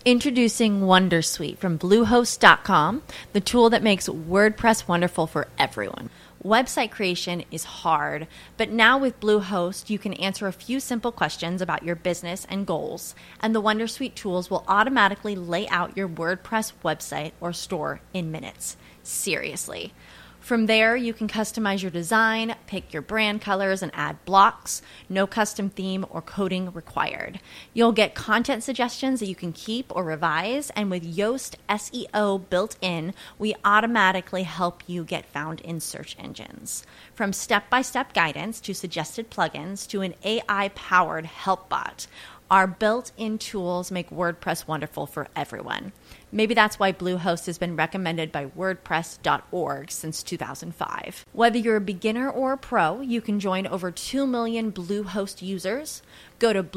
Introducing Wondersuite from Bluehost.com, the tool that makes WordPress wonderful for everyone. Website creation is hard, but now with Bluehost, you can answer a few simple questions about your business and goals, and the Wondersuite tools will automatically lay out your WordPress website or store in minutes. Seriously. From there, you can customize your design, pick your brand colors, and add blocks. No custom theme or coding required. You'll get content suggestions that you can keep or revise, and with Yoast SEO built in, we automatically help you get found in search engines. From step-by-step guidance to suggested plugins to an AI-powered help bot, our built-in tools make WordPress wonderful for everyone. Maybe that's why Bluehost has been recommended by WordPress.org since 2005. Whether you're a beginner or a pro, you can join over 2 million Bluehost users. Go to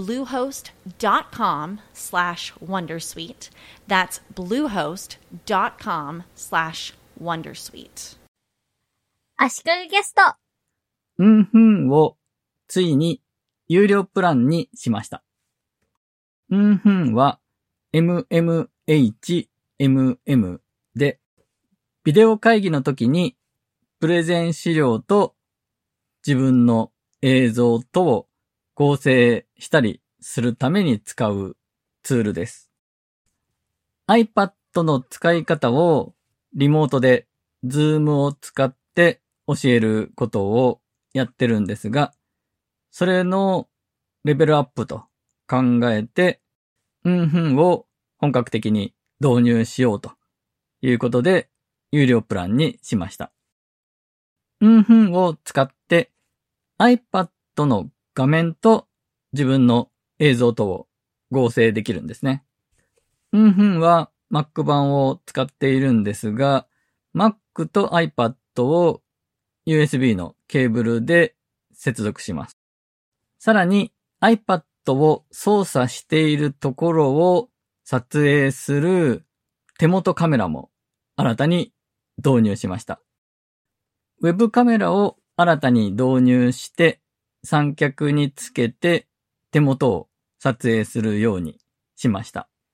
bluehost.com/wondersuite. That's bluehost.com/wondersuite. 足利ゲスト。 をついに有料プランにしました。は MMHMM で、ビデオ会議の時にプレゼン資料と自分の映像とを合成したりするために使うツールです。iPad の使い方をリモートで Zoom を使って教えることをやってるんですが、それのレベルアップと考えて、を本格的に導入しようということで、有料プランにしました。を使って iPad の画面と自分の映像とを合成できるんですね。は Mac 版を使っているんですが、Mac と iPad を USB のケーブルで接続します。さらに iPad を操作しているところを撮影する手元カメラも新たに導入しました。ウェブカメラを新たに導入して三脚につけて手元を撮影するようにしました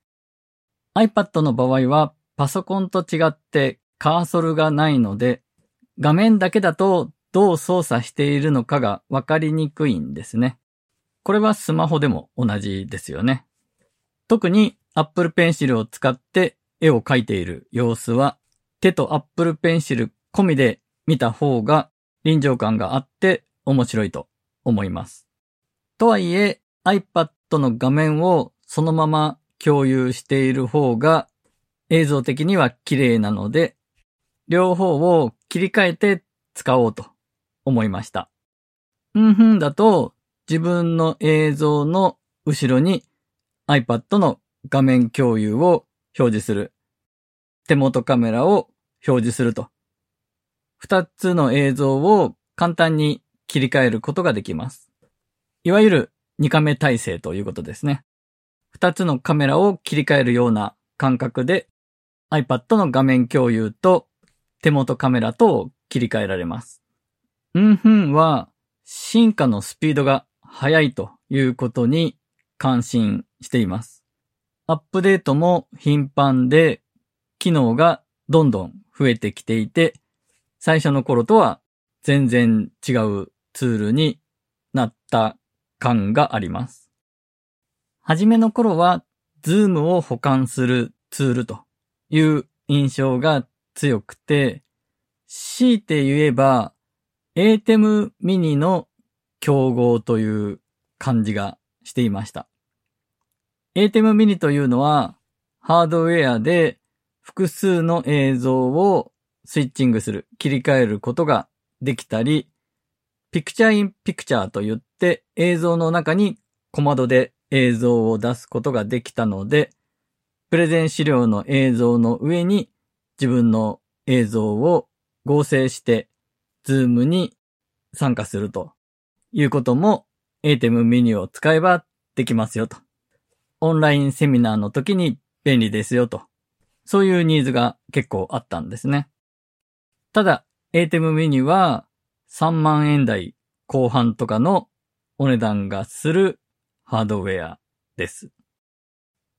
。iPad の場合はパソコンと違ってカーソルがないので、画面だけだとどう操作しているのかがわかりにくいんですね。これはスマホでも同じですよね。特に Apple Pencil を使って絵を描いている様子は、手と Apple Pencil 込みで見た方が臨場感があって面白いと思います。とはいえ iPad の画面をそのまま共有している方が映像的には綺麗なので、両方を切り替えて使おうと思いました。だと自分の映像の後ろに iPad の画面共有を表示する。手元カメラを表示すると。二つの映像を簡単に切り替えることができます。いわゆる2カメ体制ということですね。二つのカメラを切り替えるような感覚で iPad の画面共有と手元カメラとを切り替えられます。は進化のスピードが速いということに感心しています。アップデートも頻繁で機能がどんどん増えてきていて、最初の頃とは全然違うツールになった感があります。はじめの頃は Zoom を補完するツールという印象が強くて、強いて言えば ATEM mini の競合という感じがしていました。ATEM mini というのはハードウェアで複数の映像をスイッチングする、切り替えることができたり、ピクチャーインピクチャーといって映像の中に小窓で映像を出すことができたので、プレゼン資料の映像の上に自分の映像を合成して Zoom に参加するということも ATEM mini を使えばできますよと。オンラインセミナーの時に便利ですよと。そういうニーズが結構あったんですね。ただ ATEM mini は3万円台後半とかのお値段がするハードウェアです。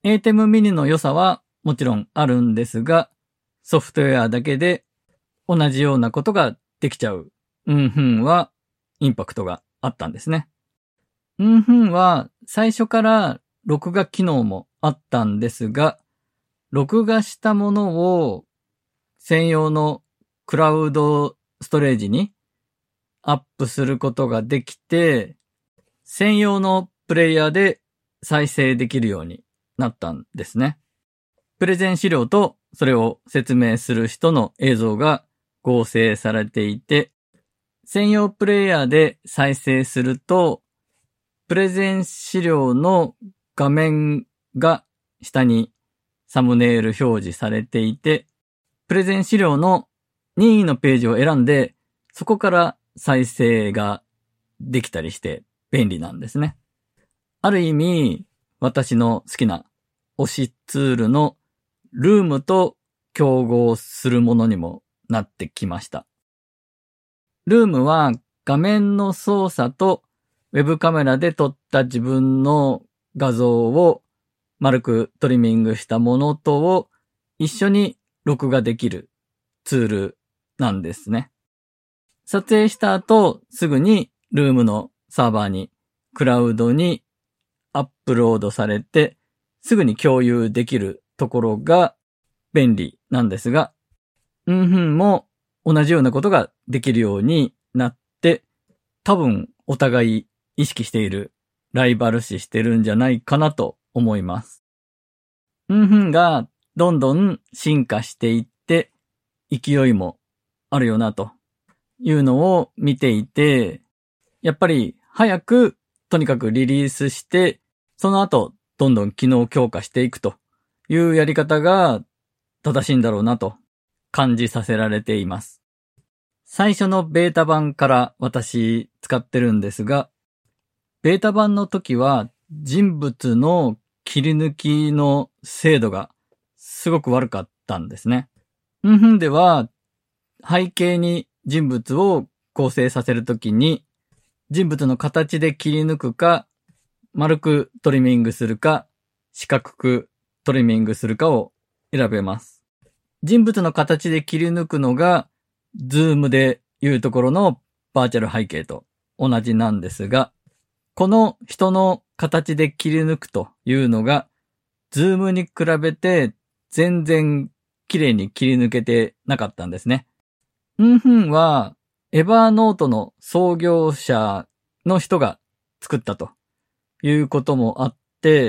ATEM mini の良さはもちろんあるんですが、ソフトウェアだけで同じようなことができちゃう。はインパクトがあったんですね。は最初から録画機能もあったんですが、録画したものを専用のクラウドストレージにアップすることができて、専用のプレイヤーで再生できるようになったんですね。プレゼン資料とそれを説明する人の映像が合成されていて、専用プレイヤーで再生すると、プレゼン資料の画面が下にサムネイル表示されていて、プレゼン資料の任意のページを選んで、そこから再生ができたりして便利なんですね。ある意味、私の好きな推しツールのルームと競合するものにもなってきました。ルームは画面の操作とウェブカメラで撮った自分の画像を丸くトリミングしたものとを一緒に録画できるツールなんですね。撮影した後すぐにルームのサーバーにクラウドにアップロードされてすぐに共有できるところが便利なんですが、も同じようなことができるようになって、多分お互い意識している、ライバル視してるんじゃないかなと思います。がどんどん進化していって勢いもあるよなというのを見ていて、やっぱり早くとにかくリリースして、その後どんどん機能強化していくというやり方が正しいんだろうなと感じさせられています。最初のベータ版から私使ってるんですが、ベータ版の時は人物の切り抜きの精度がすごく悪かったんですね。では背景に人物を構成させるときに人物の形で切り抜くか、丸くトリミングするか、四角くトリミングするかを選べます。人物の形で切り抜くのが、ズームでいうところのバーチャル背景と同じなんですが、この人の形で切り抜くというのが、ズームに比べて全然綺麗に切り抜けてなかったんですね。は、エバーノートの創業者の人が作ったということもあって、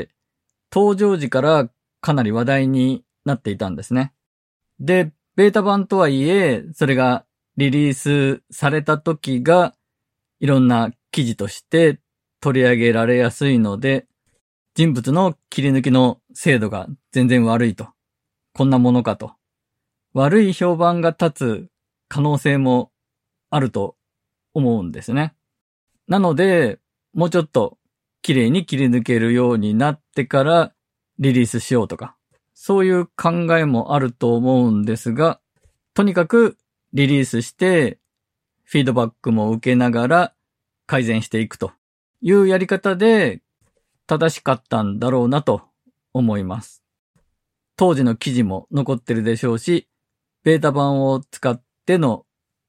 登場時からかなり話題になっていたんですね。で、ベータ版とはいえ、それがリリースされた時がいろんな記事として取り上げられやすいので、人物の切り抜きの精度が全然悪いと。こんなものかと。悪い評判が立つ可能性もあると思うんですね。なので、もうちょっと綺麗に切り抜けるようになってからリリースしようとか、そういう考えもあると思うんですが、とにかくリリースしてフィードバックも受けながら改善していくというやり方で正しかったんだろうなと思います。当時の記事も残ってるでしょうし、ベータ版を使っての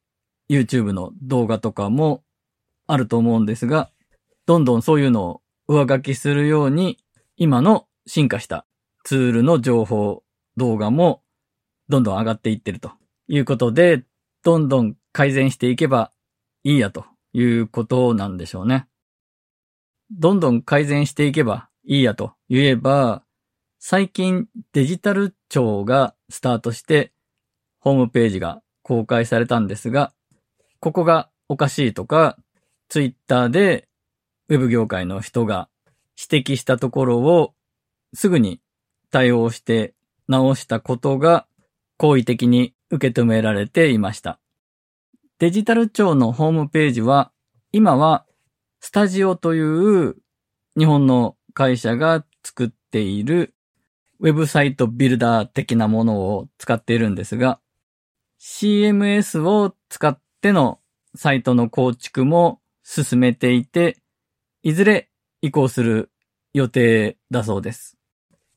YouTube の動画とかもあると思うんですが、どんどんそういうのを上書きするように、今の進化したツールの情報、動画もどんどん上がっていってるということで、どんどん改善していけばいいやということなんでしょうね。どんどん改善していけばいいやと言えば、最近デジタル庁がスタートしてホームページが公開されたんですが、ここがおかしいとか、ツイッターでウェブ業界の人が指摘したところをすぐに対応して直したことが好意的に受け止められていました。デジタル庁のホームページは今はスタジオという日本の会社が作っているウェブサイトビルダー的なものを使っているんですが、CMS を使ってのサイトの構築も進めていて、いずれ移行する予定だそうです。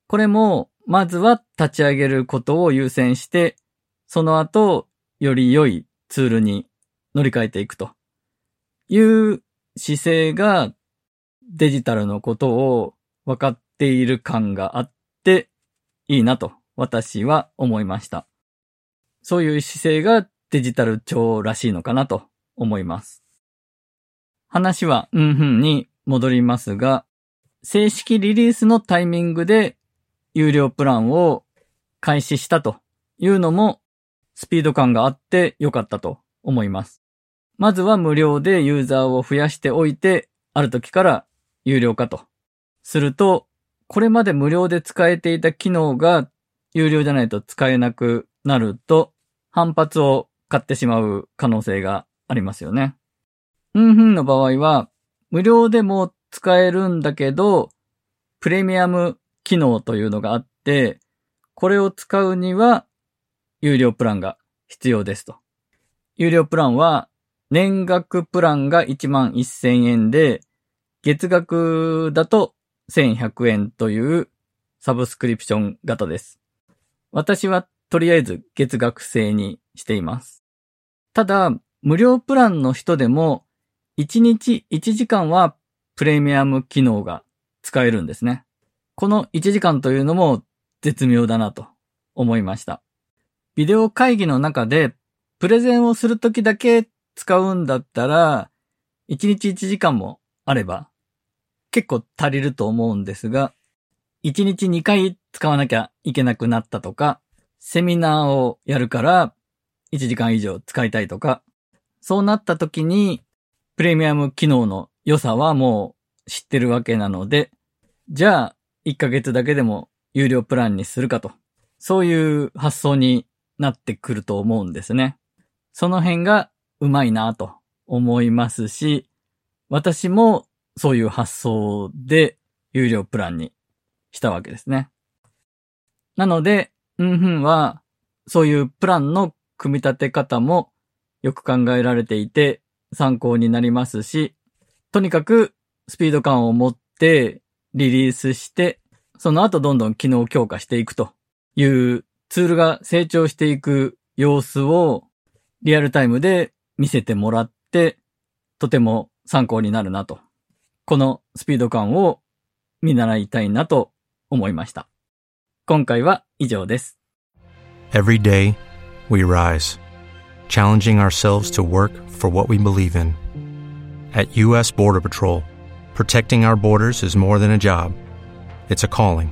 これも、まずは立ち上げることを優先して、その後、より良いツールに乗り換えていくという姿勢がデジタルのことを分かっている感があっていいなと私は思いました。そういう姿勢がデジタル庁らしいのかなと思います。話はに戻りますが、正式リリースのタイミングで有料プランを開始したというのもスピード感があってよかったと思います。まずは無料でユーザーを増やしておいて、ある時から有料化とすると、これまで無料で使えていた機能が有料じゃないと使えなくなると、反発を買ってしまう可能性がありますよね。の場合は、無料でも使えるんだけど、プレミアム機能というのがあって、これを使うには、有料プランが必要ですと。有料プランは、年額プランが 11,000 円で、月額だと1,100 円というサブスクリプション型です。私はとりあえず月額制にしています。ただ、無料プランの人でも、1日1時間はプレミアム機能が使えるんですね。この1時間というのも絶妙だなと思いました。ビデオ会議の中でプレゼンをするときだけ使うんだったら、1日1時間もあれば結構足りると思うんですが、1日2回使わなきゃいけなくなったとか、セミナーをやるから1時間以上使いたいとか、そうなった時にプレミアム機能の良さはもう知ってるわけなので、じゃあ1ヶ月だけでも有料プランにするかと、そういう発想になってくると思うんですね。その辺がうまいなと思いますし、私もそういう発想で有料プランにしたわけですね。なので、はそういうプランの組み立て方もよく考えられていて参考になりますし、とにかくスピード感を持ってリリースして、その後どんどん機能強化していくというツールが成長していく様子をリアルタイムで見せてもらって、とても参考になるなと。このスピード感を見習いたいなと思いました。今回は以上です。 Every day, we rise, challenging ourselves to work for what we believe in. At U.S. Border Patrol, protecting our borders is more than a job. It's a calling.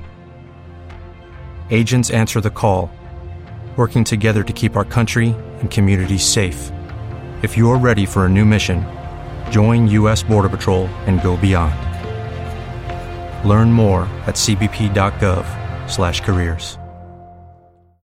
Agents answer the call, working together to keep our country and communities safe. If you're ready for a new mission, join U.S. Border Patrol and go beyond. Learn more at cbp.gov/careers.